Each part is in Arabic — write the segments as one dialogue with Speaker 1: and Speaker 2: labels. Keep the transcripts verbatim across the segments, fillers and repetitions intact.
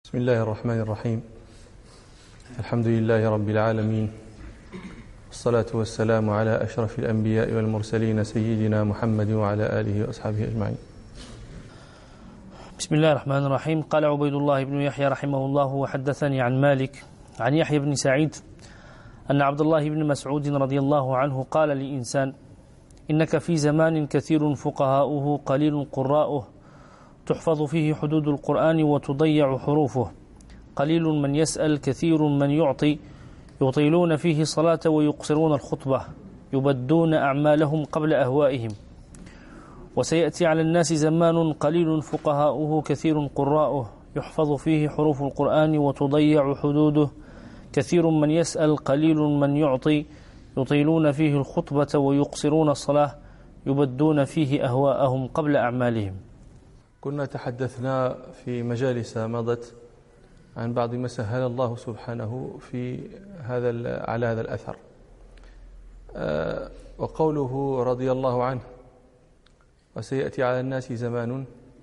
Speaker 1: بسم الله الرحمن الرحيم. الحمد لله رب العالمين، والصلاة والسلام على أشرف الأنبياء والمرسلين سيدنا محمد وعلى آله وأصحابه أجمعين.
Speaker 2: بسم الله الرحمن الرحيم. قال عبيد الله بن يحيى رحمه الله وحدثني عن مالك عن يحيى بن سعيد أن عبد الله بن مسعود رضي الله عنه قال لإنسان: إنك في زمان كثير فقهاؤه قليل قراؤه، تحفظ فيه حدود القرآن وتضيع حروفه، قليل من يسأل كثير من يعطي، يطيلون فيه الصلاة ويقصرون الخطبة، يبدون أعمالهم قبل أهوائهم. وسيأتي على الناس زمان قليل فقهاؤه كثير قراؤه، يحفظ فيه حروف القرآن وتضيع حدوده، كثير من يسأل قليل من يعطي، يطيلون فيه الخطبة ويقصرون الصلاة، يبدون فيه أهواءهم قبل أعمالهم.
Speaker 1: كنا تحدثنا في مجالس مضت عن بعض ما سهل الله سبحانه في هذا على هذا الأثر، أه وقوله رضي الله عنه: وسيأتي على الناس زمان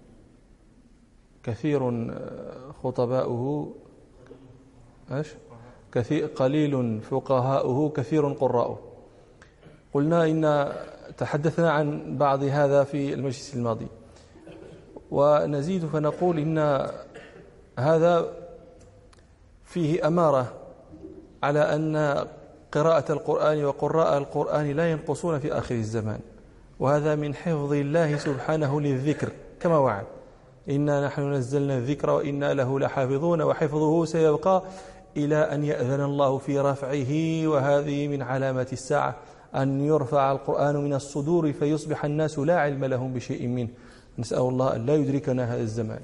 Speaker 1: كثير خطباؤه ايش كثير قليل فقهاؤه كثير قراؤه. قلنا إن تحدثنا عن بعض هذا في المجلس الماضي، ونزيد فنقول إن هذا فيه أمارة على أن قراءة القرآن وقراء القرآن لا ينقصون في آخر الزمان، وهذا من حفظ الله سبحانه للذكر كما وعد: إنا نحن نزلنا الذكر وإنا له لحافظون وحفظه سيبقى إلى أن يأذن الله في رفعه. وهذه من علامات الساعة أن يرفع القرآن من الصدور فيصبح الناس لا علم لهم بشيء منه. نسأل الله أن لا يدركنا هذا الزمان.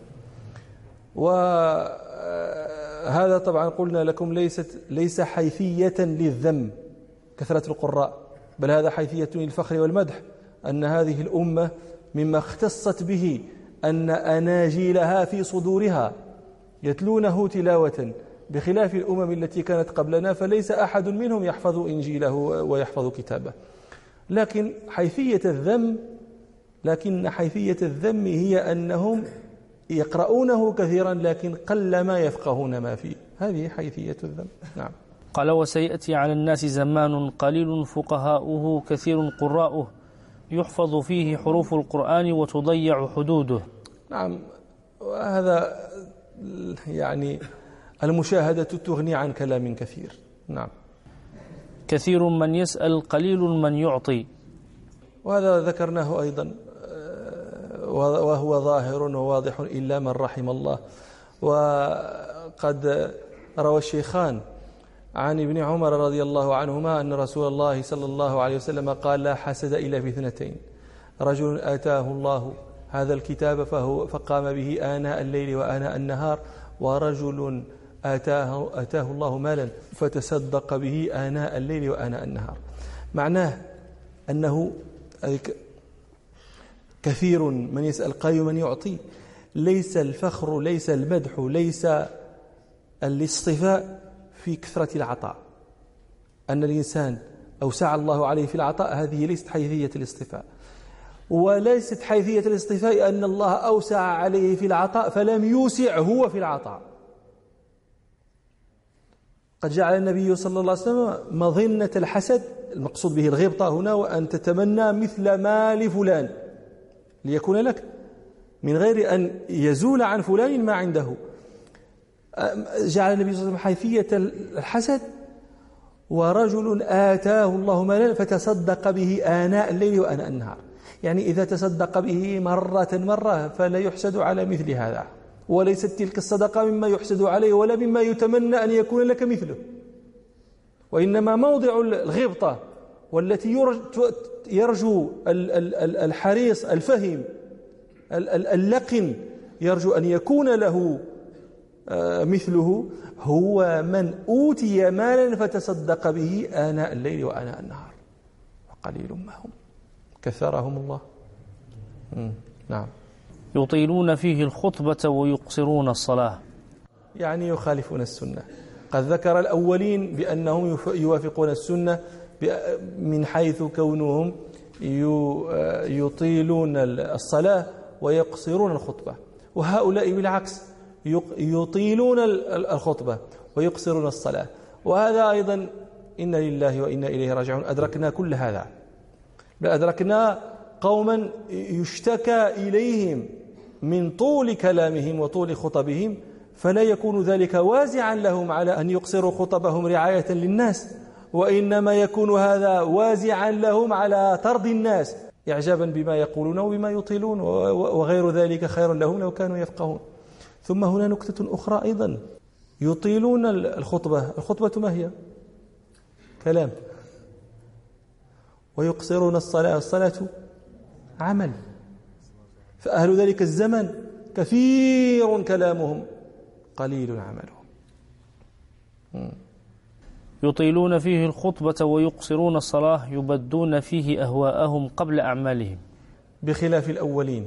Speaker 1: وهذا طبعا قلنا لكم ليست ليس حيثية للذم كثرة القراء، بل هذا حيثية للفخر والمدح، أن هذه الأمة مما اختصت به أن أناجيلها في صدورها يتلونه تلاوة، بخلاف الأمم التي كانت قبلنا فليس أحد منهم يحفظ إنجيله ويحفظ كتابه. لكن حيثية الذم لكن حيثية الذم هي أنهم يقرؤونه كثيرا لكن قل ما يفقهون ما فيه، هذه حيثية الذم. نعم.
Speaker 2: قال: وسيأتي على الناس زمان قليل فقهاؤه كثير قراؤه، يحفظ فيه حروف القرآن وتضيع حدوده.
Speaker 1: نعم، وهذا يعني المشاهدة تغني عن كلام كثير. نعم.
Speaker 2: كثير من يسأل قليل من يعطي،
Speaker 1: وهذا ذكرناه أيضا وهو ظاهر وواضح إلا من رحم الله. وقد روى الشيخان عن ابن عمر رضي الله عنهما أن رسول الله صلى الله عليه وسلم قال: لا حسد إلا في اثنتين: رجل آتاه الله هذا الكتاب فهو فقام به آناء الليل وآناء النهار، ورجل آتاه, آتاه الله مالا فتصدق به آناء الليل وآناء النهار. معناه أنه كثير من يسأل قليل من يعطي. ليس الفخر، ليس المدح، ليس الاصطفاء في كثرة العطاء، أن الإنسان أوسع الله عليه في العطاء، هذه ليست حيثية الاصطفاء. وليست حيثية الاصطفاء أن الله أوسع عليه في العطاء فلم يوسع هو في العطاء. قد جعل النبي صلى الله عليه وسلم مظنة الحسد، المقصود به الغبطة هنا، وأن تتمنى مثل ما لفلان ليكون لك، من غير أن يزول عن فلان ما عنده. جعل النبي صلى الله عليه وسلم حيثية الحسد: ورجل آتاه الله مالا فتصدق به آناء الليل وآناء النهار. يعني إذا تصدق به مرة مرة فلا يحسد على مثل هذا، وليست تلك الصدقة مما يحسد عليه ولا مما يتمنى أن يكون لك مثله، وإنما موضع الغبطة والتي يرجو الحريص الفهم اللقن يرجو أن يكون له مثله هو من أوتي مالا فتصدق به آناء الليل وآناء النهار، وقليل ما هم كثرهم الله. نعم.
Speaker 2: يطيلون فيه الخطبة ويقصرون الصلاة،
Speaker 1: يعني يخالفون السنة. قد ذكر الأولين بأنهم يوافقون السنة من حيث كونهم يطيلون الصلاة ويقصرون الخطبة، وهؤلاء بالعكس يطيلون الخطبة ويقصرون الصلاة. وهذا أيضا إنا لله وإنا إليه راجعون، أدركنا كل هذا، بل أدركنا قوما يشتكى إليهم من طول كلامهم وطول خطبهم، فلا يكون ذلك وازعا لهم على أن يقصروا خطبهم رعاية للناس، وإنما يكون هذا وازعا لهم على طرد الناس إعجابا بما يقولون وبما يطيلون، وغير ذلك خير لهم لو كانوا يفقهون. ثم هنا نكتة أخرى أيضا، يطيلون الخطبة. الخطبة ما هي؟ كلام. ويقصرون الصلاة. الصلاة عمل. فأهل ذلك الزمن كثير كلامهم قليل عملهم.
Speaker 2: يطيلون فيه الخطبة ويقصرون الصلاة، يبدون فيه أهواءهم قبل أعمالهم،
Speaker 1: بخلاف الأولين.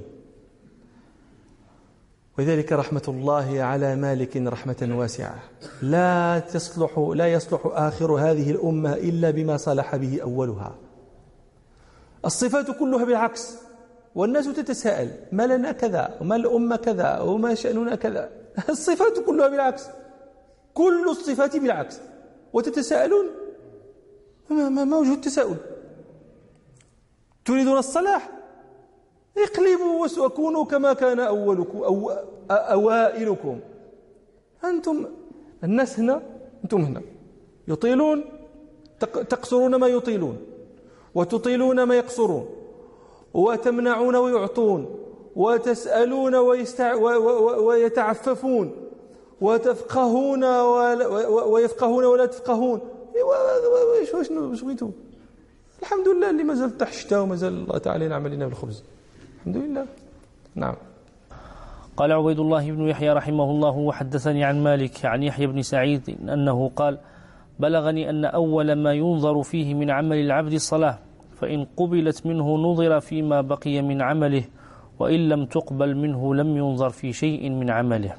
Speaker 1: وذلك رحمة الله على مالك رحمة واسعة، لا تصلح لا يصلح آخر هذه الأمة إلا بما صلح به أولها. الصفات كلها بالعكس، والناس تتساءل ما لنا كذا وما الأمة كذا وما شأننا كذا. الصفات كلها بالعكس، كل الصفات بالعكس، وتتساءلون ما, ما وجه التساؤل؟ تريدون الصلاح؟ اقلبوا وكونوا كما كان أولكم أو أوائلكم. أنتم الناس هنا، أنتم هنا يطيلون، تقصرون ما يطيلون، وتطيلون ما يقصرون، وتمنعون ويعطون، وتسألون ويستع... ويتعففون، وتفقهون ويفقهون ولا تفقهون. شنو بغيتوا؟ الحمد لله اللي ما زال تحت الشتاء وما زال الله تعالى ينعم لنا بالخبز، الحمد لله. نعم.
Speaker 2: قال عبيد الله بن يحيى رحمه الله: وحدثني عن مالك عن يحيى بن سعيد أنه قال: بلغني أن أول ما ينظر فيه من عمل العبد الصلاة، فإن قبلت منه نظر فيما بقي من عمله، وإن لم تقبل منه لم ينظر في شيء من عمله.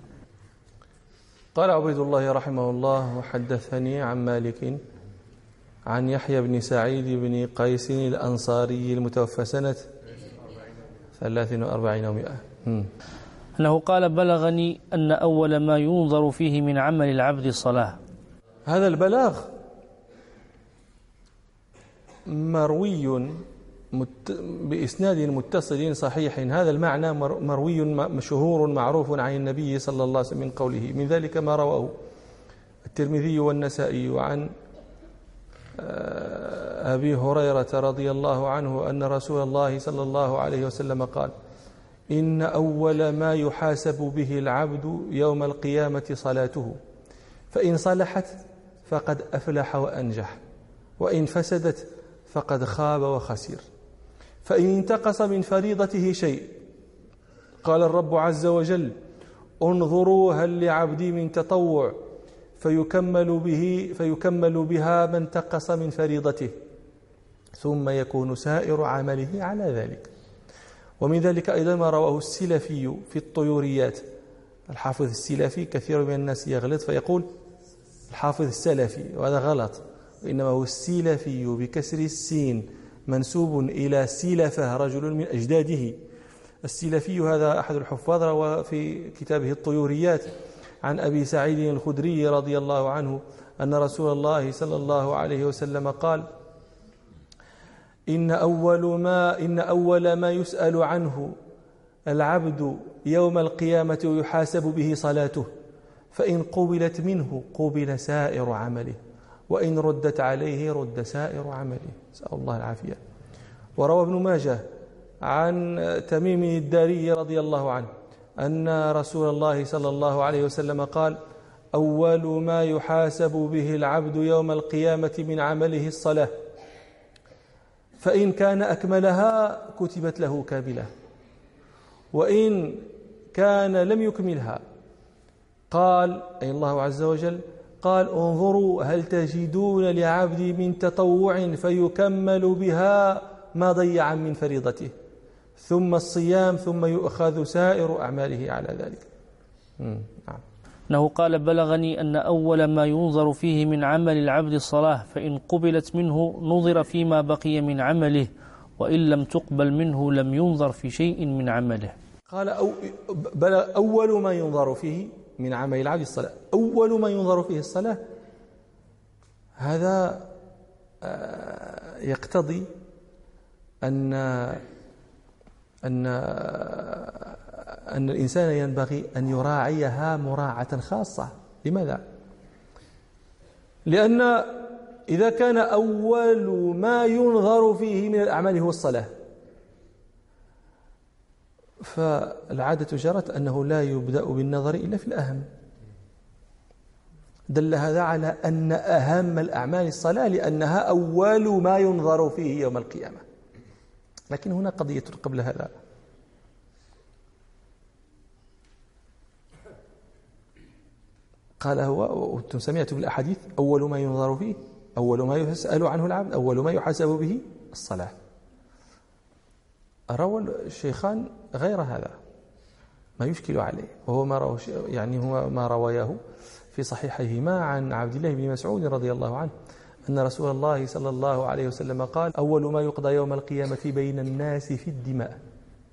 Speaker 1: قال عبيد الله رحمه الله: وحدثني عن مالك عن يحيى بن سعيد بن قيس الأنصاري المتوفى سنة ثلاث وأربعين ومائة،
Speaker 2: أنه قال: بلغني أن أول ما ينظر فيه من عمل العبد الصلاة.
Speaker 1: هذا البلاغ مروي بإسناد متصل صحيح. هذا المعنى مروي مشهور معروف عن النبي صلى الله عليه وسلم من قوله. من ذلك ما رواه الترمذي والنسائي عن أبي هريرة رضي الله عنه أن رسول الله صلى الله عليه وسلم قال: إن أول ما يحاسب به العبد يوم القيامة صلاته، فإن صلحت فقد أفلح وأنجح، وإن فسدت فقد خاب وخسر. فإن انتقص من فريضته شيء قال الرب عز وجل: انظروا هل لعبدي من تطوع فيكمل به فيكمل بها ما انتقص من فريضته، ثم يكون سائر عمله على ذلك. ومن ذلك أيضا ما رواه السلفي في الطيوريات. الحافظ السلفي كثير من الناس يغلط فيقول الحافظ السلفي، وهذا غلط، وإنما هو السلفي بكسر السين، منسوب إلى سلفة رجل من أجداده. السلفي هذا أحد الحفاظ، روى في كتابه الطيوريات عن أبي سعيد الخدري رضي الله عنه أن رسول الله صلى الله عليه وسلم قال: إن أول ما إن أول ما يسأل عنه العبد يوم القيامة ويحاسب به صلاته، فإن قبلت منه قبل سائر عمله، وإن ردت عليه رد سائر عمله. نسأل الله العافية. وروى ابن ماجه عن تميم الداري رضي الله عنه أن رسول الله صلى الله عليه وسلم قال: أول ما يحاسب به العبد يوم القيامة من عمله الصلاة، فإن كان أكملها كتبت له كاملة، وإن كان لم يكملها قال أي الله عز وجل قال: انظروا هل تجدون لعبدي من تطوع فيكمل بها ما ضيع من فريضته، ثم الصيام، ثم يؤخذ سائر أعماله على ذلك.
Speaker 2: نعم. أنه قال: بلغني أن أول ما ينظر فيه من عمل العبد الصلاة، فإن قبلت منه نظر فيما بقي من عمله، وإن لم تقبل منه لم ينظر في شيء من عمله.
Speaker 1: قال أو بل أول ما ينظر فيه من عمل العبد الصلاة، أول ما ينظر فيه الصلاة. هذا يقتضي أن أن أن الإنسان ينبغي أن يراعيها مراعاة خاصة. لماذا؟ لأن إذا كان أول ما ينظر فيه من الأعمال هو الصلاة، فالعادة جرت أنه لا يبدأ بالنظر إلا في الأهم. دل هذا على أن أهم الأعمال الصلاة، لأنها أول ما ينظر فيه يوم القيامة. لكن هنا قضية قبل هذا. قال هو، وأنتم سمعتم بالأحاديث، أول ما ينظر فيه، أول ما يسأل عنه العبد، أول ما يحاسب به الصلاة. روى الشيخان غير هذا ما يشكل عليه، وهو ما روى يعني هو ما رواياه في صحيحيهما عن عبد الله بن مسعود رضي الله عنه أن رسول الله صلى الله عليه وسلم قال: أول ما يقضى يوم القيامة بين الناس في الدماء.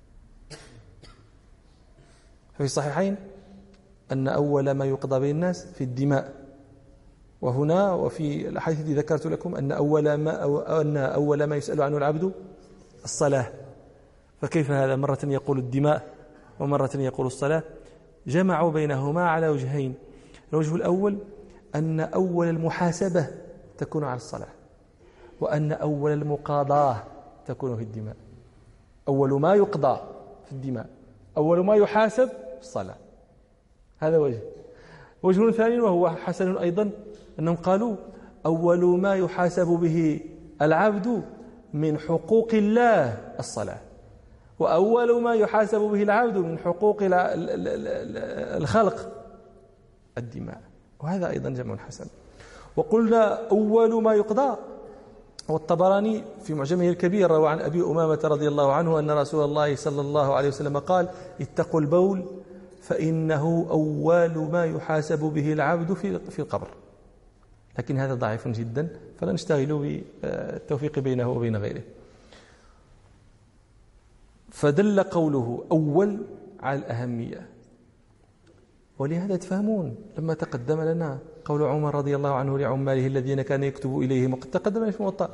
Speaker 1: في الصحيحين أن أول ما يقضى بين الناس في الدماء، وهنا وفي الحديث الذي ذكرت لكم أن أول ما أو أن أول ما يسأل عنه العبد الصلاة. فكيف هذا؟ مرة يقول الدماء ومرة يقول الصلاة. جمعوا بينهما على وجهين. الوجه الأول أن أول المحاسبة تكون على الصلاة، وأن أول المقاضاة تكون في الدماء. أول ما يقضى في الدماء، أول ما يحاسب في الصلاة. هذا وجه. وجه ثاني وهو حسن أيضا، أنهم قالوا أول ما يحاسب به العبد من حقوق الله الصلاة، وأول ما يحاسب به العبد من حقوق الخلق الدماء. وهذا أيضا جمع حسن. وقلنا أول ما يقضى، والطبراني في معجمه الكبير روى عن أبي أمامة رضي الله عنه أن رسول الله صلى الله عليه وسلم قال: اتقوا البول فإنه أول ما يحاسب به العبد في القبر. لكن هذا ضعيف جدا، فلا نشتغل بالتوفيق بينه وبين غيره. فدل قوله أول على الأهمية. ولهذا تفهمون لما تقدم لنا قول عمر رضي الله عنه لعماله الذين كان يكتب إليهم، وقد تقدم في الموطأ: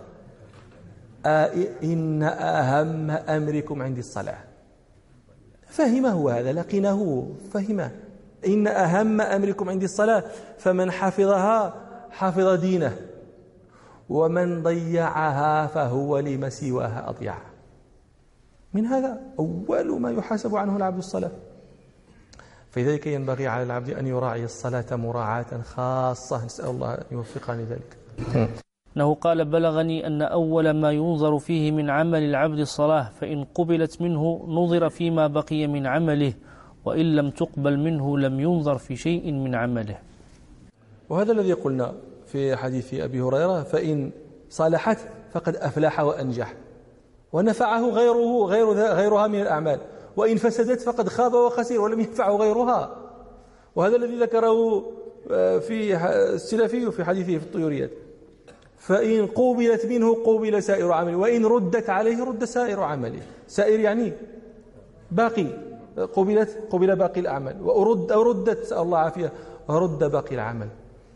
Speaker 1: إن أهم أمركم عندي الصلاة. فهمه هذا، لقنه فهمه. إن أهم أمركم عندي الصلاة، فمن حفظها حفظ دينه، ومن ضيعها فهو لما سواها أضيع. من هذا أول ما يحاسب عنه العبد الصلاة. فلذلك ينبغي على العبد أن يراعي الصلاة مراعاة خاصة، نسأل الله أن يوفقنا لذلك.
Speaker 2: أنه قال: بلغني أن أول ما ينظر فيه من عمل العبد الصلاة، فإن قبلت منه نظر فيما بقي من عمله، وإن لم تقبل منه لم ينظر في شيء من عمله.
Speaker 1: وهذا الذي قلنا في حديث أبي هريرة: فإن صالحت فقد أفلح وأنجح ونفعه غيره غير غيرها من الأعمال، وإن فسدت فقد خاب وخسر ولم ينفعه غيرها. وهذا الذي ذكره في السلفي في حديثه في الطيوريات: فإن قوبلت منه قوبل سائر عمله، وإن ردت عليه رد سائر عمله. سائر يعني باقي، قوبلت قوبل باقي الأعمال، وأرد أو ردت، سأل الله عافية، رد باقي العمل.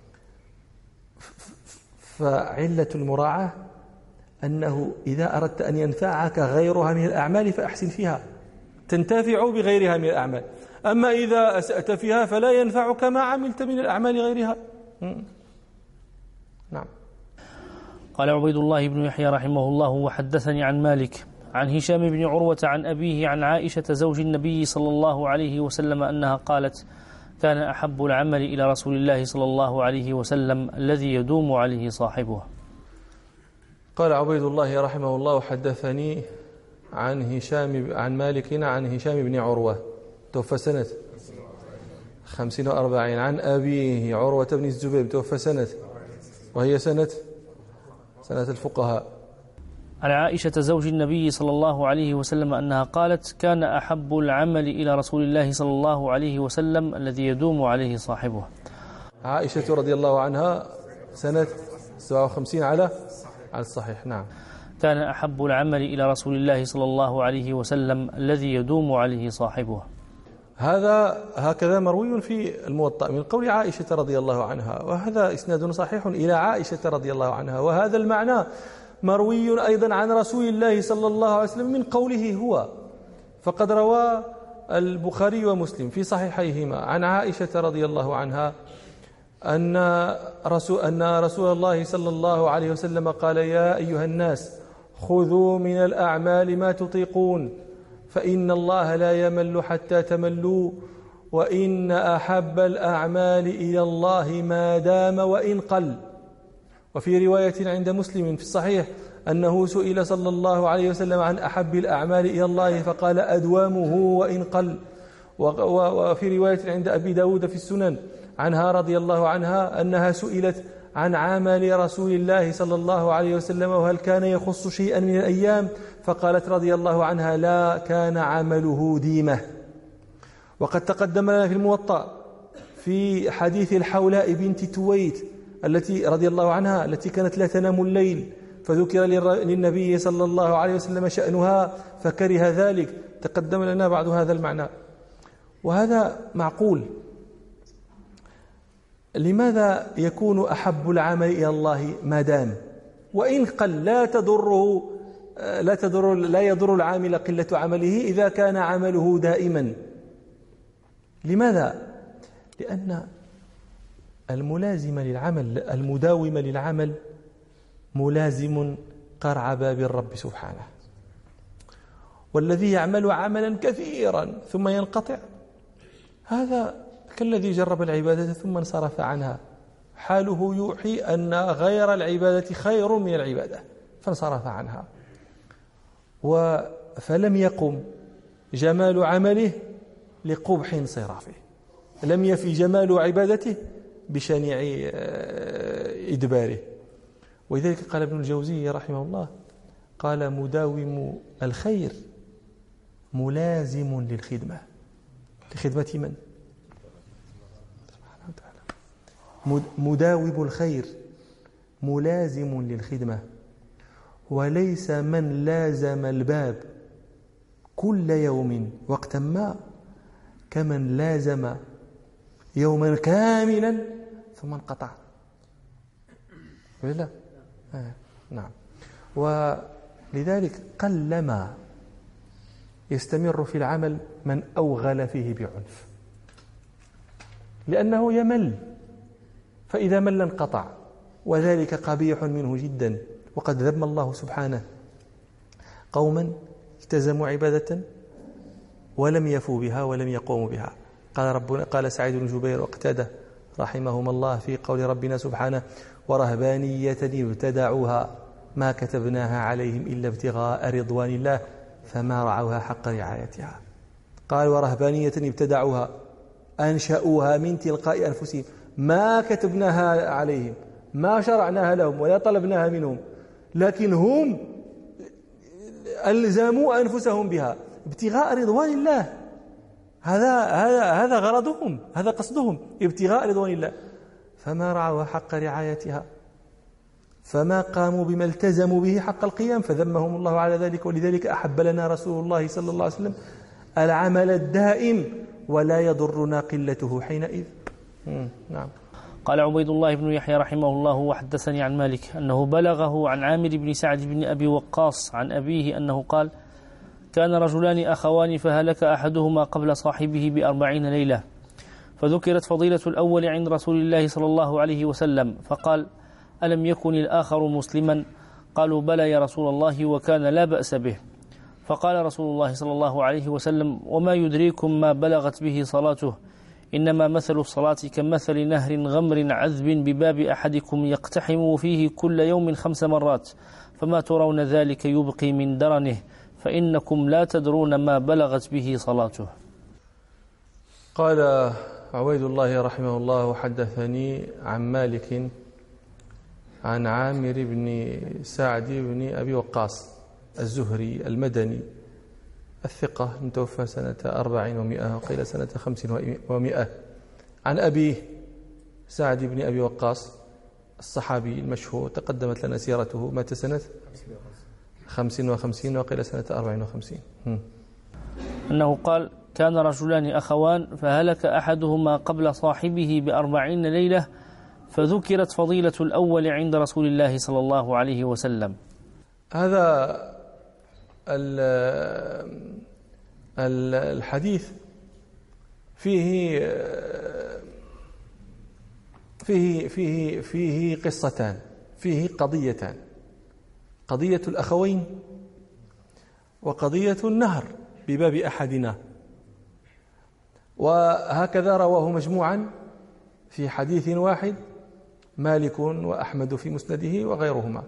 Speaker 1: فعلة المراعاة أنه إذا أردت أن ينفعك غيرها من الأعمال فأحسن فيها، تنتفع بغيرها من الأعمال. أما إذا أسأت فيها فلا ينفعك ما عملت من الأعمال غيرها. نعم.
Speaker 2: قال عبيد الله بن يحيى رحمه الله: وحدثني عن مالك عن هشام بن عروة عن أبيه عن عائشة زوج النبي صلى الله عليه وسلم أنها قالت: كان أحب العمل إلى رسول الله صلى الله عليه وسلم الذي يدوم عليه صاحبه.
Speaker 1: قال عبيد الله رحمه الله: حدثني عن هشام عن مالك عن هشام بن عروة، توفى سنة خمسين وأربعين، عن أبيه عروة بن الزبير، توفى سنة، وهي سنة سنة الفقهاء،
Speaker 2: عن عائشة زوج النبي صلى الله عليه وسلم أنها قالت: كان أحب العمل إلى رسول الله صلى الله عليه وسلم الذي يدوم عليه صاحبه.
Speaker 1: عائشة رضي الله عنها سنة سبعة وخمسين على على الصحيح. نعم.
Speaker 2: كان أحب العمل إلى رسول الله صلى الله عليه وسلم الذي يدوم عليه صاحبه.
Speaker 1: هذا هكذا مروي في الموطأ من قول عائشة رضي الله عنها، وهذا إسناد صحيح إلى عائشة رضي الله عنها، وهذا المعنى مروي أيضا عن رسول الله صلى الله عليه وسلم من قوله هو. فقد روى البخاري ومسلم في صحيحيهما عن عائشة رضي الله عنها أن رسول, أن رسول الله صلى الله عليه وسلم قال: يا أيها الناس خذوا من الأعمال ما تطيقون، فإن الله لا يمل حتى تملوا، وإن أحب الأعمال إلى الله ما دام وإن قل. وفي رواية عند مسلم في الصحيح أنه سئل صلى الله عليه وسلم عن أحب الأعمال إلى الله فقال: أدوامه وإن قل. وفي رواية عند أبي داود في السنن عنها رضي الله عنها أنها سئلت عن عمل رسول الله صلى الله عليه وسلم وهل كان يخص شيئا من الأيام، فقالت رضي الله عنها: لا، كان عمله ديمة. وقد تقدم لنا في الموطأ في حديث الحولاء بنت تويت التي رضي الله عنها التي كانت لا تنام الليل، فذكر للنبي صلى الله عليه وسلم شأنها فكره ذلك. تقدم لنا بعد هذا المعنى، وهذا معقول. لماذا يكون أحب العمل إلى الله ما دام وإن قل؟ لا تضره لا تضر لا يضر العامل قلة عمله إذا كان عمله دائما. لماذا؟ لأن الملازم للعمل المداوم للعمل ملازم قرع باب الرب سبحانه، والذي يعمل عملا كثيرا ثم ينقطع هذا كالذي جرب العبادة ثم انصرف عنها، حاله يوحي أن غير العبادة خير من العبادة فانصرف عنها، فلم يقم جمال عمله لقبح انصرافه، لم يفي جمال عبادته بشنيع إدباره. ولذلك قال ابن الجوزي رحمه الله، قال: مداوم الخير ملازم للخدمة. لخدمة من؟ مداوم الخير ملازم للخدمة، وليس من لازم الباب كل يوم وقتا ما كمن لازم يوما كاملا ثم انقطع. ولا آه. نعم. ولذلك قلما يستمر في العمل من أوغل فيه بعنف، لأنه يمل، فإذا مل انقطع، وذلك قبيح منه جدا. وقد ذم الله سبحانه قوما التزموا عبادة ولم يفوا بها ولم يقوموا بها. قال ربنا قال سعيد بن جبير وقتاده رحمهما الله في قول ربنا سبحانه: ورهبانية ابتدعوها ما كتبناها عليهم إلا ابتغاء رضوان الله فما رعوها حق رعايتها. قال: ورهبانية ابتدعوها، أنشأوها من تلقاء أنفسهم، ما كتبناها عليهم، ما شرعناها لهم ولا طلبناها منهم، لكن هم ألزموا أنفسهم بها ابتغاء رضوان الله. هذا هذا هذا غرضهم، هذا قصدهم، ابتغاء رضوان الله، فما رعوا حق رعايتها، فما قاموا بما التزموا به حق القيام، فذمهم الله على ذلك. ولذلك أحب لنا رسول الله صلى الله عليه وسلم العمل الدائم ولا يضرنا قلته حينئذ. نعم.
Speaker 2: قال عبيد الله بن يحيى رحمه الله: وحدثني عن مالك أنه بلغه عن عامر بن سعد بن أبي وقاص عن أبيه أنه قال: كان رجلان أخوان فهلك أحدهما قبل صاحبه بأربعين ليلة، فذكرت فضيلة الأول عند رسول الله صلى الله عليه وسلم، فقال: ألم يكن الآخر مسلما؟ قالوا: بلى يا رسول الله، وكان لا بأس به. فقال رسول الله صلى الله عليه وسلم: وما يدريكم ما بلغت به صلاته؟ إنما مثل الصلاة كمثل نهر غمر عذب بباب أحدكم يقتحم فيه كل يوم خمس مرات، فما ترون ذلك يبقي من درنه، فإنكم لا تدرون ما بلغت به صلاته.
Speaker 1: قال عبيد الله رحمه الله: حدثني عن مالك عن عامر بن سعد بن أبي وقاص الزهري المدني الثقة متوفى سنة أربعين ومئة وقيل سنة خمس ومئة، عن أبيه سعد بن أبي وقاص الصحابي المشهور، تقدمت لنا سيرته، مات سنة خمس وخمسين وقيل سنة أربع وخمسين.
Speaker 2: أنه قال كان رجلان أخوان فهلك أحدهما قبل صاحبه بأربعين ليلة فذكرت فضيلة الأول عند رسول الله صلى الله عليه وسلم.
Speaker 1: هذا الحديث فيه فيه فيه فيه قصتان، فيه قضيتان، قضية الأخوين وقضية النهر بباب أحدنا، وهكذا رواه مجموعا في حديث واحد مالك وأحمد في مسنده وغيرهما.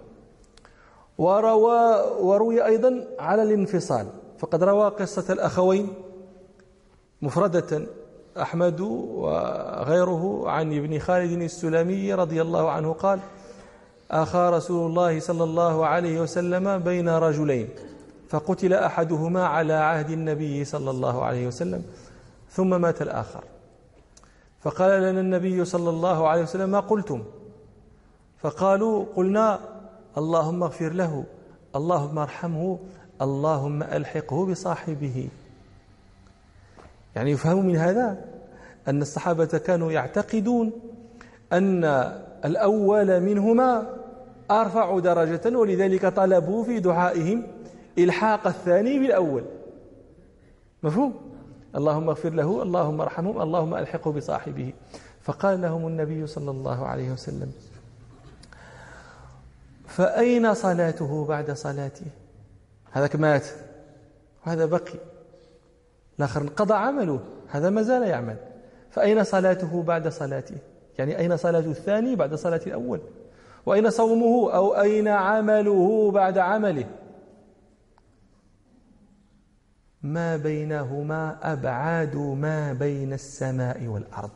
Speaker 1: وروى وروي أيضا على الانفصال، فقد روى قصة الأخوين مفردة أحمد وغيره عن ابن خالد السلمي رضي الله عنه قال أخى رسول الله صلى الله عليه وسلم بين رجلين فقتل أحدهما على عهد النبي صلى الله عليه وسلم ثم مات الآخر، فقال لنا النبي صلى الله عليه وسلم ما قلتم؟ فقالوا قلنا اللهم اغفر له، اللهم ارحمه، اللهم ألحقه بصاحبه. يعني يفهم من هذا أن الصحابة كانوا يعتقدون أن الأول منهما أرفع درجة، ولذلك طلبوا في دعائهم إلحاق الثاني بالأول. مفهوم؟ اللهم اغفر له، اللهم ارحمه، اللهم ألحقه بصاحبه. فقال لهم النبي صلى الله عليه وسلم فأين صلاته بعد صلاته؟ هذاك مات وهذا بقي، الآخر انقضى عمله، هذا ما زال يعمل. فأين صلاته بعد صلاته؟ يعني أين صلاة الثاني بعد صلاة الأول؟ وأين صومه أو أين عمله بعد عمله؟ ما بينهما أبعاد ما بين السماء والأرض.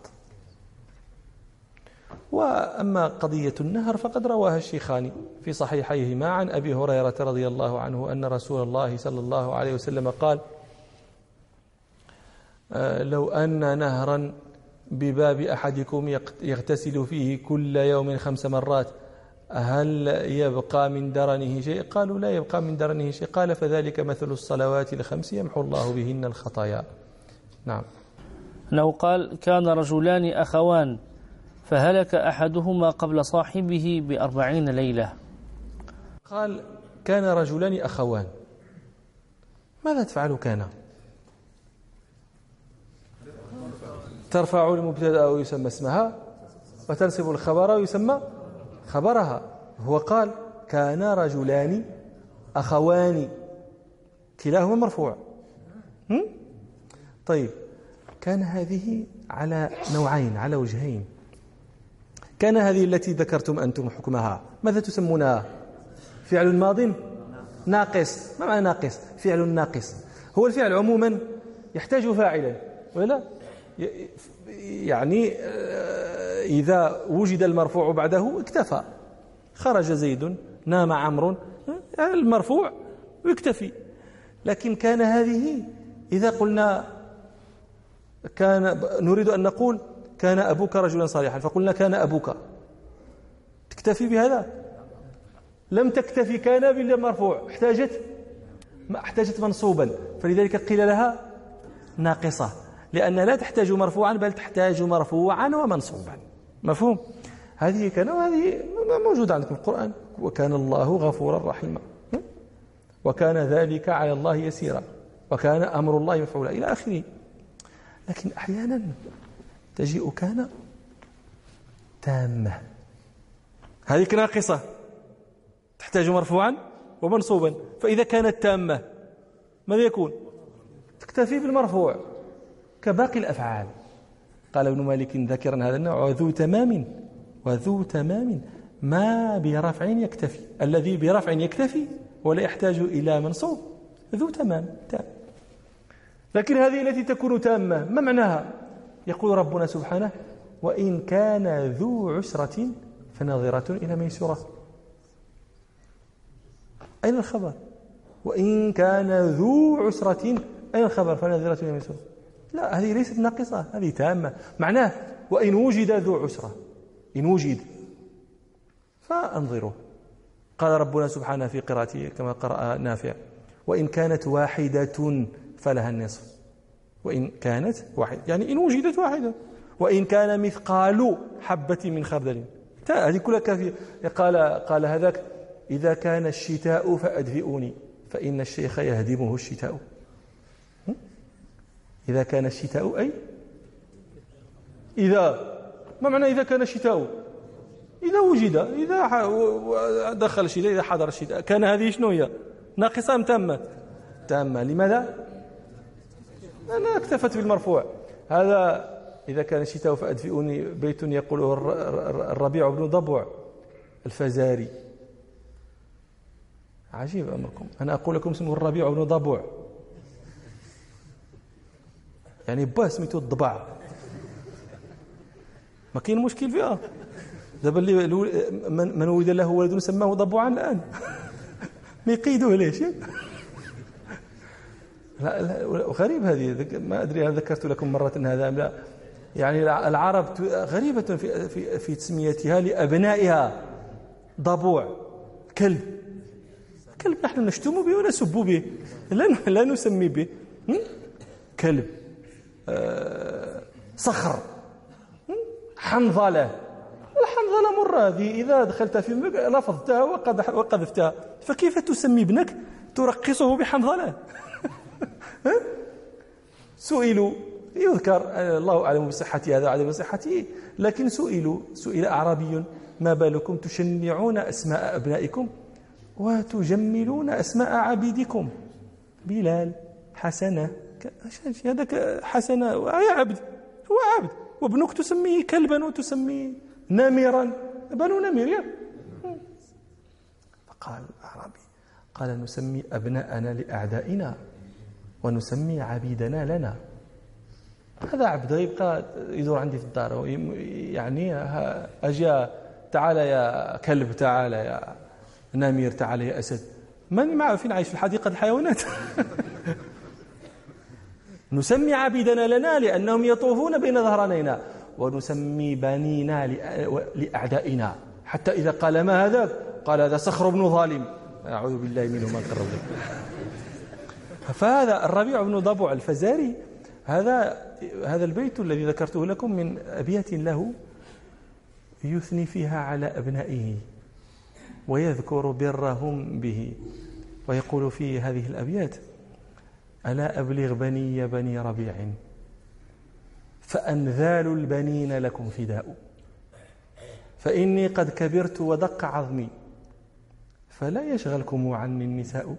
Speaker 1: وأما قضية النهر فقد رواها الشيخان في صحيحيهما عن أبي هريرة رضي الله عنه أن رسول الله صلى الله عليه وسلم قال لو أن نهرا بباب أحدكم يغتسل فيه كل يوم خمس مرات هل يبقى من درنه شيء؟ قالوا لا يبقى من درنه شيء. قال فذلك مثل الصلوات الخمس يمحو الله بهن الخطايا. نعم.
Speaker 2: أنه قال كان رجلان أخوان فهلك أحدهما قبل صاحبه بأربعين ليلة.
Speaker 1: قال كان رجلان أخوان، ماذا تفعل كان؟ ترفع المبتدأ ويسمى اسمها وتنصب الخبر ويسمى خبرها. هو قال كان رجلان أخوان كلاهما مرفوع. طيب كان هذه على نوعين، على وجهين. كان هذه التي ذكرتم أنتم حكمها ماذا تسمونها؟ فعل ماض ناقص. ما معنى ناقص؟ فعل ناقص. هو الفعل عموما يحتاج فاعلا ولا؟ يعني إذا وجد المرفوع بعده اكتفى. خرج زيد، نام عمرو، المرفوع يكتفي. لكن كان هذه إذا قلنا كان نريد أن نقول كان أبوك رجلا صالحا فقلنا كان أبوك، تكتفي بهذا؟ لم تكتفي كان بالمرفوع، احتاجت ما احتاجت منصوبا، فلذلك قيل لها ناقصة، لأن لا تحتاج مرفوعا بل تحتاج مرفوعا ومنصوبا. مفهوم؟ هذه كان وهذه موجودة عندكم في القرآن. وكان الله غفورا رحيما وكان ذلك على الله يسيرا وكان أمر الله مفعولا إلى آخره. لكن أحيانا تجيء كان تامة، هذه ناقصة تحتاج مرفوعا ومنصوبا. فإذا كانت تامة ماذا يكون؟ تكتفي بالمرفوع كباقي الأفعال. قال ابن مالك ذكرا هذا النوع وذو تمام وذو تمام ما برفع يكتفي. الذي برفع يكتفي ولا يحتاج إلى منصوب ذو تمام تام. لكن هذه التي تكون تامة ما معناها؟ يقول ربنا سبحانه وإن كان ذو عسرة فنظرة إلى ميسرة. أين الخبر؟ وإن كان ذو عسرة أين الخبر؟ فنظرة إلى ميسرة. لا، هذه ليست ناقصة، هذه تامة. معناه وإن وجد ذو عسرة، إن وجد فأنظره قال ربنا سبحانه في قراءته كما قرأ نافع: وإن كانت واحدة فلها النصف. وإن كانت واحدة يعني إن وجدت واحدة. وإن كان مثقال حبة من خردل، هذه كلها كافية. قال قال هذاك: إذا كان الشتاء فأدفئوني فإن الشيخ يهدمه الشتاء. إذا كان الشتاء أي إذا، ما معنى إذا كان الشتاء؟ إذا وجد، إذا دخل الشتاء، إذا حضر الشتاء. كان هذه شنو هي؟ ناقصة أم تامة؟ تامة. لماذا؟ أنا اكتفت بالمرفوع. هذا إذا كان الشتاء فأدفئوني بيت يقوله الربيع بن ضبع الفزاري. عجيب أمركم، أنا أقول لكم اسمه الربيع بن ضبع، يعني با سميتو الضبع، ما كاين مشكل فيها. دابا اللي من ولد له ولد سماه ضبعا الآن ما يقيدوه ليش؟ لا لا، غريب هذه، ما أدري هل ذكرت لكم مرة هذا أم لا. يعني العرب غريبة في في في تسميتها لأبنائها ضبوع. كلب، كلب نحن نشتم به ونسب به، لا لا نسمي به. كلب، آه، صخر، حنظلة. الحنظلة مرة هذه، إذا دخلت في لفظتها وقذفتها، فكيف تسمي ابنك ترقصه بحنظلة؟ سئلوا، يذكر الله أعلم بصحة هذا وعدم صحته، لكن سئلوا سئل أعرابي: ما بالكم تشنعون أسماء أبنائكم وتجملون أسماء عبيدكم؟ بلال، حسنة، هذاك حسنة يا عبد، هو عبد، وابنك تسميه كلبا وتسميه نمرا، بنو نمر. فقال الأعرابي: قال: نسمي أبناءنا لأعدائنا ونسمي عبيدنا لنا. هذا عبد يبقى يدور عندي في الدار، يعني أجا تعال يا كلب، تعال يا نمير، تعال يا أسد، ماني معه فين عايش في حديقة الحيوانات. نسمي عبيدنا لنا لأنهم يطوفون بين ظهرانينا، ونسمي بنينا لأعدائنا، حتى إذا قال ما هذا قال هذا صخر بن ظالم، أعوذ بالله منه ما قرب. فهذا الربيع بن ضبع الفزاري، هذا هذا البيت الذي ذكرته لكم من أبيات له يثني فيها على أبنائه ويذكر برهم به، ويقول في هذه الأبيات: ألا أبلغ بني بني ربيع فأنذال البنين لكم فداء، فإني قد كبرت ودق عظمي فلا يشغلكم عني النساء،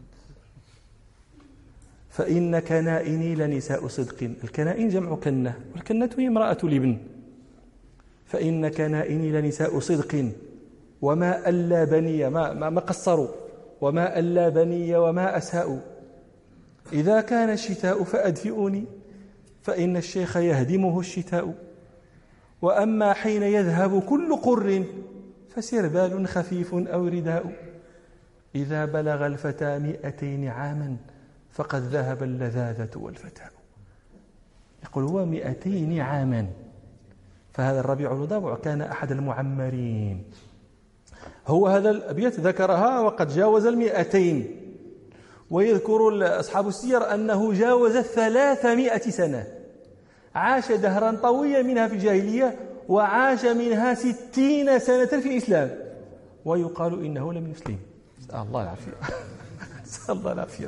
Speaker 1: فإن كنائني لنساء صدق. الكنائن جمع كنة، والكنة هي امرأة الابن. فإن كنائني لنساء صدق وما ألا بني، ما, ما, ما قصروا، وما ألا بني وما أسهأوا. إذا كان الشتاء فأدفئوني فإن الشيخ يهدمه الشتاء، وأما حين يذهب كل قر فسربال خفيف أو رداء. إذا بلغ الفتى مئتين عاما فقد ذهب اللذاذة والفتاء. يقول هو مئتين عاما، فهذا الربيع بن ضبع كان أحد المعمرين. هو هذا الأبيات ذكرها وقد جاوز المئتين، ويذكر أصحاب السير أنه جاوز ثلاثمائة سنة، عاش دهرا طويلا منها في الجاهلية، وعاش منها ستين سنة في الإسلام، ويقال إنه لم يسلم. نسأل الله العافية. نسأل الله العافية.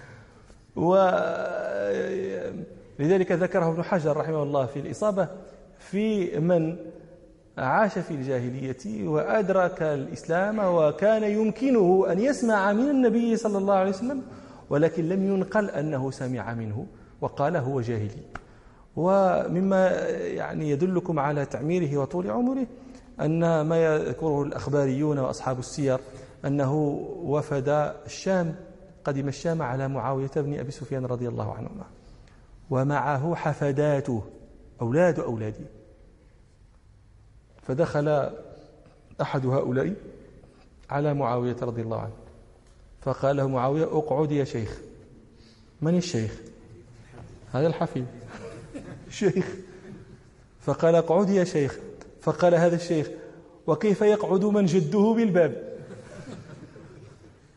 Speaker 1: ولذلك ذكره ابن حجر رحمه الله في الإصابة في من عاش في الجاهلية وأدرك الإسلام وكان يمكنه أن يسمع من النبي صلى الله عليه وسلم، ولكن لم ينقل أنه سمع منه، وقال هو جاهلي. ومما يعني يدلكم على تعميره وطول عمره أن ما يذكره الأخباريون وأصحاب السير أنه وفد الشام، قدم الشام على معاوية بن أبي سفيان رضي الله عنهما، ومعه حفداته أولاد أولاده. فدخل أحد هؤلاء على معاوية رضي الله عنه فقال له معاوية: اقعد يا شيخ. من الشيخ؟ هذا الحفيد شيخ. فقال: اقعد يا شيخ. فقال هذا الشيخ: وكيف يقعد من جده بالباب؟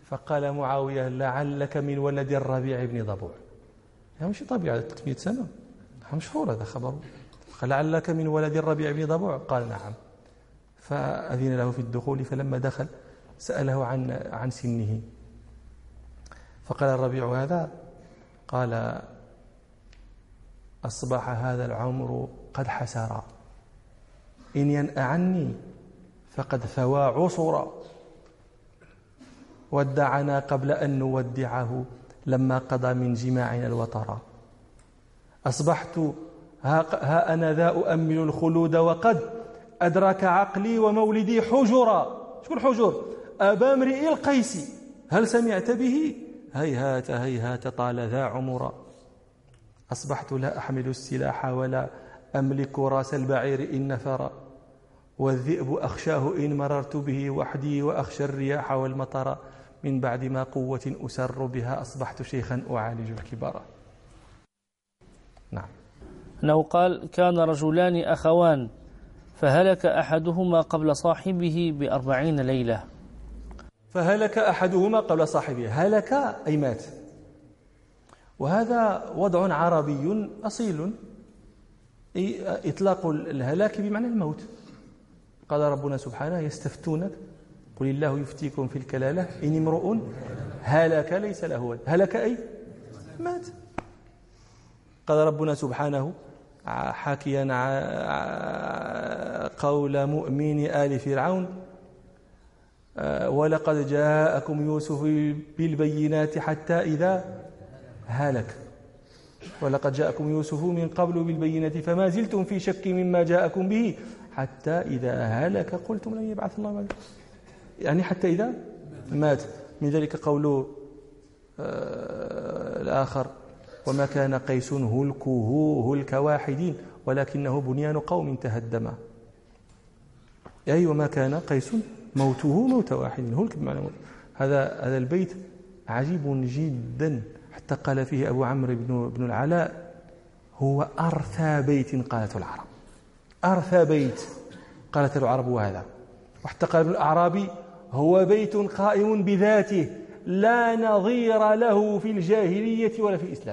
Speaker 1: فقال معاوية لعلك من ولد الربيع بن ضبوع. يعني مش طبيعي ثلاثمائة سنة مشهور هذا خبره. قال لعلك من ولد الربيع بن ضبوع، قال نعم. فأذن له في الدخول، فلما دخل سأله عن عن سنه، فقال الربيع هذا، قال أصبح هذا العمر قد حسر، إن ينأ عني فقد ثوى عصرا، ودعنا قبل أن نودعه لما قضى من جماعنا الوطرا. أصبحت ها, ها أنا ذا أؤمل الخلود وقد أدرك عقلي ومولدي حجرا. شكون حجر؟ أبا امرئ القيس، هل سمعت به؟ هيهات هيهات طال ذا عمرا. أصبحت لا أحمل السلاح ولا أملك راس البعير إن نفر، والذئب أخشاه إن مررت به وحدي، وأخشى الرياح والمطر، من بعد ما قوة أسر بها أصبحت شيخا أعالج الكبار. نعم.
Speaker 2: أنه قال كان رجلان أخوان فهلك أحدهما قبل صاحبه بأربعين ليلة.
Speaker 1: فهلك أحدهما قبل صاحبه، هلك أي مات، وهذا وضع عربي أصيل، إطلاق الهلاك بمعنى الموت. قال ربنا سبحانه يستفتونك قل الله يفتيكم في الكلالة إن امرؤ هلك ليس له ولد، هلك أي مات. قال ربنا سبحانه حاكيا قول مؤمن آل فرعون ولقد جاءكم يوسف بالبينات حتى إذا هلك، ولقد جاءكم يوسف من قبل بالبينات فما زلتم في شك مما جاءكم به حتى إذا هلك قلتم لن يبعث الله بعد، يعني حتى إذا مات. من ذلك قول الآخر وما كان قيس هلكه هلك واحد ولكنه بنيان قوم تهدما، أي وما كان قيس موته موت واحد، هلك بمعنى موت. هذا هذا البيت عجيب جدا، حتى قال فيه أبو عمرو بن بن العلاء هو أرثى بيت قالته العرب، أرثى بيت قالت العرب وهذا. وحتى قال ابن الأعرابي هو بيت قائم بذاته لا نظير له في الجاهلية ولا في الإسلام.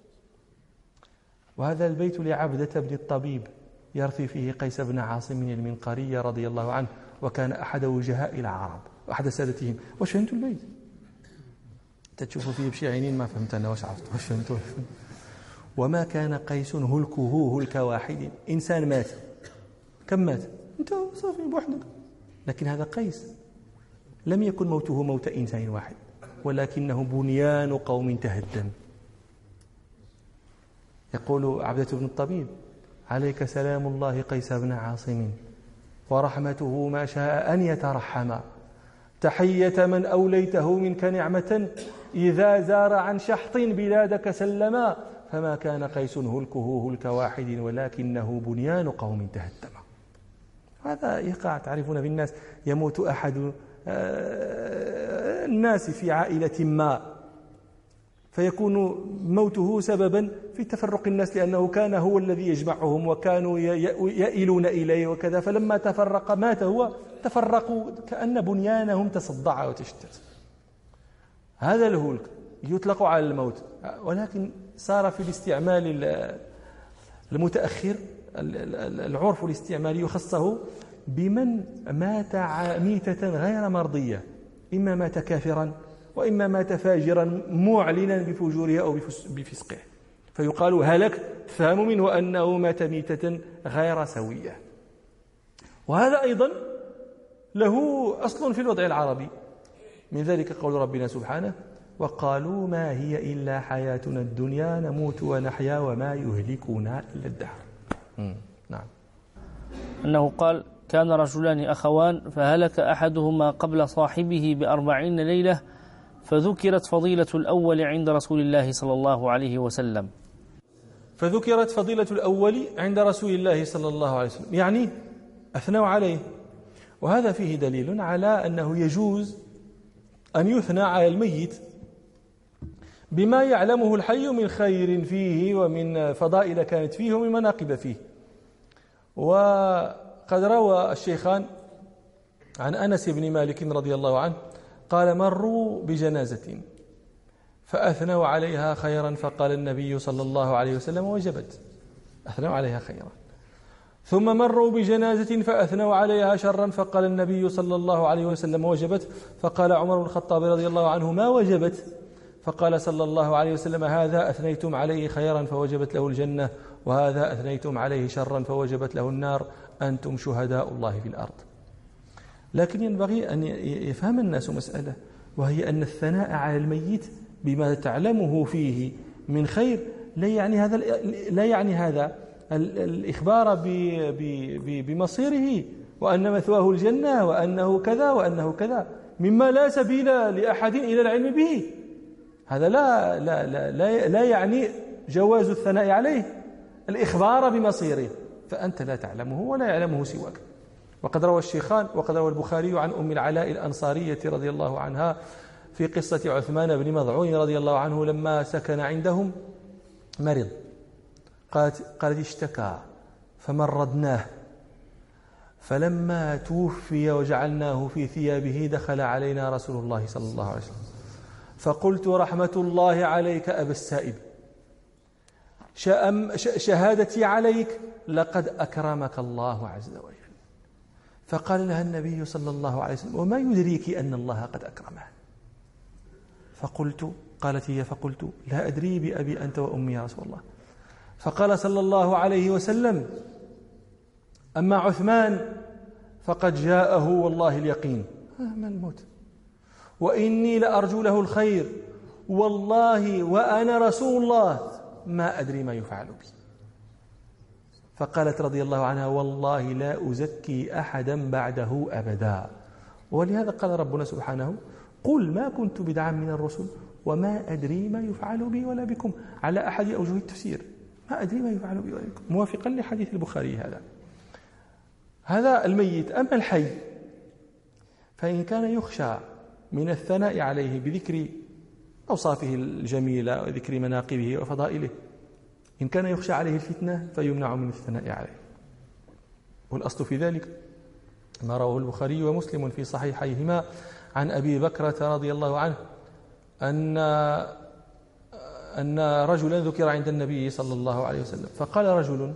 Speaker 1: وهذا البيت لعبدة بن الطبيب يرثي فيه قيس بن عاصم المنقري رضي الله عنه، وكان أحد وجهاء العرب وأحد سادتهم. واش فهمتوا البيت؟ تشوفوا فيه بشي عينين ما فهمت أنا واش عرفت واش فهمتوا. وما كان قيس هلكه هلك واحد، إنسان مات، كم مات؟ أنت صافي بوحدك. لكن هذا قيس لم يكن موته موت إنسان واحد، ولكنه بنيان قوم تهدم. يقول عبدة بن الطبيب عليك سلام الله قيس بن عاصم ورحمته ما شاء أن يترحم، تحية من أوليته منك نعمة إذا زار عن شحط بلادك سلما، فما كان قيس هلكه هلك واحد ولكنه بنيان قوم تهدم. هذا يقع، تعرفون في الناس يموت أحد الناس في عائلة ما فيكون موته سببا في تفرق الناس، لأنه كان هو الذي يجمعهم وكانوا يئلون إليه وكذا، فلما تفرق مات هو، تفرقوا كأن بنيانهم تصدع وتشتت. هذا الهلك يطلق على الموت، ولكن صار في الاستعمال المتأخر العرف الاستعمالي يخصه بمن مات ميتة غير مرضية، إما مات كافرا وإما مات فاجرا معلنا بفجوره أو بفسقه، فيقال هلك، فهم منه أنه مات ميتة غير سوية. وهذا أيضا له أصل في الوضع العربي، من ذلك قول ربنا سبحانه وقالوا ما هي إلا حياتنا الدنيا نموت ونحيا وما يهلكنا إلا الدهر. نعم.
Speaker 2: أنه قال كان رجلان أخوان فهلك أحدهما قبل صاحبه بأربعين ليلة، فذكرت فضيلة الأول عند رسول الله صلى الله عليه وسلم.
Speaker 1: فذكرت فضيلة الأول عند رسول الله صلى الله عليه وسلم، يعني أثنوا عليه. وهذا فيه دليل على أنه يجوز أن يثنى على الميت بما يعلمه الحي من خير فيه ومن فضائل كانت فيه ومن مناقب فيه. وقد روى الشيخان عن أنس بن مالك رضي الله عنه قال مروا بجنازة فأثنوا عليها خيرا فقال النبي صلى الله عليه وسلم وجبت، أثنوا عليها خيرا. ثم مروا بجنازة فأثنوا عليها شرا فقال النبي صلى الله عليه وسلم وجبت، فقال عمر بن الخطاب رضي الله عنه ما وجبت؟ فقال صلى الله عليه وسلم هذا أثنيتم عليه خيرا فوجبت له الجنة، وهذا أثنيتم عليه شرا فوجبت له النار، أنتم شهداء الله في الأرض. لكن ينبغي أن يفهم الناس مسألة، وهي أن الثناء على الميت بما تعلمه فيه من خير لا يعني هذا لا يعني هذا الإخبار بمصيره وأن مثواه الجنة وأنه كذا وأنه كذا مما لا سبيل لأحد إلى العلم به. هذا لا لا لا لا, لا يعني جواز الثناء عليه الإخبار بمصيره، فأنت لا تعلمه ولا يعلمه سواك. وقد روى الشيخان وقد روى البخاري عن أم العلاء الأنصارية رضي الله عنها في قصة عثمان بن مضعون رضي الله عنه لما سكن عندهم مرض، قالت, قالت اشتكى فمرضناه، فلما توفي وجعلناه في ثيابه دخل علينا رسول الله صلى الله عليه وسلم فقلت رحمة الله عليك أبا السائب، شهادتي عليك لقد أكرمك الله عز وجل. فقال لها النبي صلى الله عليه وسلم وما يدريك أن الله قد أكرمه؟ فقلت قالت هي فقلت لا أدري بأبي أنت وأمي يا رسول الله. فقال صلى الله عليه وسلم أما عثمان فقد جاءه والله اليقين ما الموت، وإني لأرجو له الخير والله وأنا رسول الله ما أدري ما يفعل بي. فقالت رضي الله عنها والله لا أزكي أحدا بعده أبدا. ولهذا قال ربنا سبحانه قل ما كنت بدعا من الرسل وما أدري ما يفعل بي ولا بكم، على أحد أوجه التفسير ما أدري ما يفعل بي ولا بكم، موافقا لحديث البخاري. هذا هذا الميت. أما الحي فإن كان يخشى من الثناء عليه بذكر أوصافه الجميلة وذكر مناقبه وفضائله، إن كان يخشى عليه الفتنة فيمنع من الثناء عليه. والأصل في ذلك ما رواه البخاري ومسلم في صحيحيهما عن أبي بكرة رضي الله عنه أن أن رجلا ذكر عند النبي صلى الله عليه وسلم فقال رجل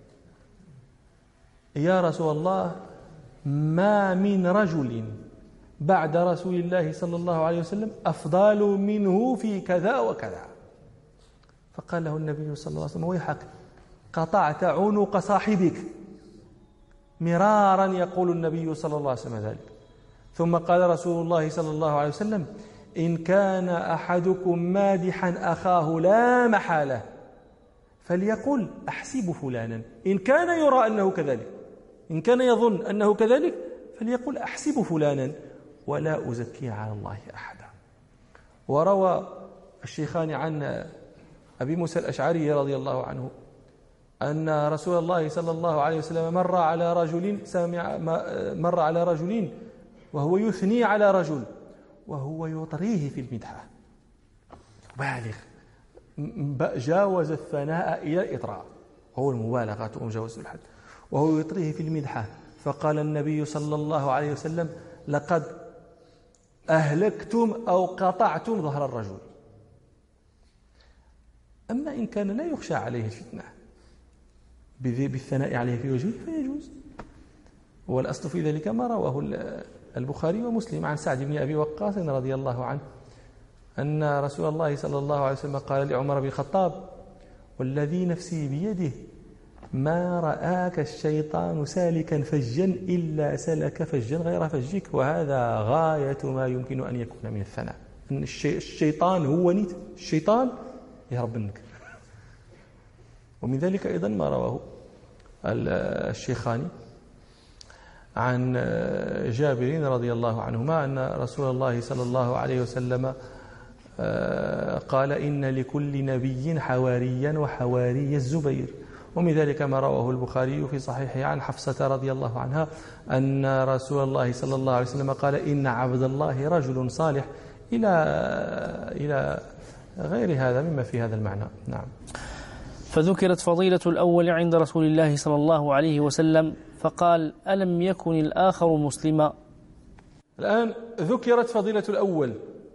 Speaker 1: يا رسول الله ما من رجل بعد رسول الله صلى الله عليه وسلم أفضل منه في كذا وكذا. فقال له النبي صلى الله عليه وسلم ويحك قطعت عنق صاحبك. مرارا يقول النبي صلى الله عليه وسلم ذلك. ثم قال رسول الله صلى الله عليه وسلم إن كان أحدكم مادحا أخاه لا محالة فليقل أحسب فلانا، إن كان يرى أنه كذلك، إن كان يظن أنه كذلك فليقل أحسب فلانا ولا أزكي على الله أحدا. وروى الشيخان عن أبي موسى الأشعري رضي الله عنه أن رسول الله صلى الله عليه وسلم مر على رجل سامع مر على رجل وهو يثني على رجل وهو يطريه في المدحة، بالغ جاوز الثناء إلى الإطراء، هو المبالغة ومجاوز الحد، وهو يطريه في المدحة. فقال النبي صلى الله عليه وسلم لقد أهلكتم أو قطعتم ظهر الرجل. أما إن كان لا يخشى عليه الفتنة بالثناء عليه في وجهه فيجوز. والأصل في ذلك ما رواه البخاري ومسلم عن سعد بن أبي وقاص رضي الله عنه أن رسول الله صلى الله عليه وسلم قال لعمر بن الخطاب والذي نفسي بيده ما رآك الشيطان سالكا فجا إلا سلك فجا غير فجك، وهذا غاية ما يمكن أن يكون من الثناء. الشيطان هو نيت الشيطان يهرب منك. ومن ذلك أيضا ما رواه الشيخان عن جابر رضي الله عنهما أن رسول الله صلى الله عليه وسلم قال إن لكل نبي حواريا وحواري الزبير. ومن ذلك ما رواه البخاري في صحيحه عن حفصة رضي الله عنها أن رسول الله صلى الله عليه وسلم قال إن عبد الله رجل صالح إلى إلى غير هذا مما في هذا المعنى. نعم.
Speaker 2: فذكرت فضيلة الأول عند رسول الله صلى الله عليه وسلم فقال ألم يكن الآخر مسلما؟
Speaker 1: الآن ذكرت فضيلة الأول،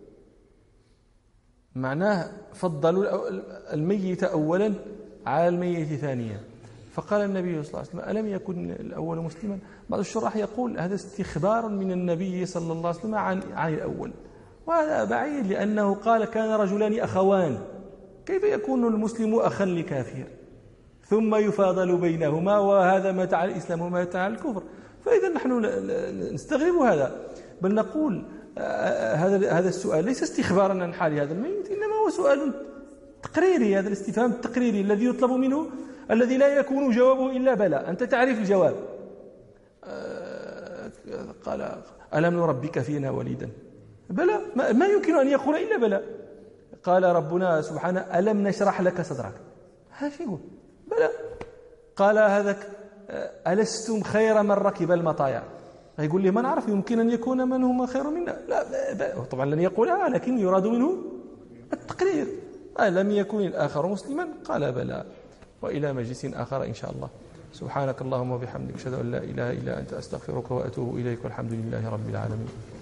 Speaker 1: معناه فضلوا الميت أولا على الميت ثانيا. فقال النبي صلى الله عليه وسلم: ألم يكن الأول مسلما؟ بعض الشراح يقول هذا استخبار من النبي صلى الله عليه وسلم عن, عن الأول، وهذا بعيد، لأنه قال: كان رجلان أخوان، كيف يكون المسلم أخا لكافر ثم يفاضل بينهما، وهذا مات على الإسلام وما مات على الكفر؟ فإذا نحن نستغرب هذا، بل نقول هذا هذا السؤال ليس استخبارا عن حال هذا الميت، إنما هو سؤال تقريري. هذا الاستفهام التقريري الذي يطلب منه، الذي لا يكون جوابه إلا بلى، أنت تعرف الجواب. قال: ألم نربك فينا وليدا؟ بلى، ما يمكن أن يقول إلا بلى. قال ربنا سبحانه: ألم نشرح لك صدرك؟ هذا شيء يقول بلى. قال هذاك: ألستم خير من ركب المطايا؟ يقول لي: ما نعرف، يمكن أن يكون من هم خير منا. لا، طبعا لن يقولها، لكن يراد منه التقرير. ألم يكن الآخر مسلما؟ قال بلى. وإلى مجلس آخر إن شاء الله. سبحانك اللهم وبحمدك، أشهد أن لا إله إلا أنت، أستغفرك وأتوب إليك، والحمد لله رب العالمين.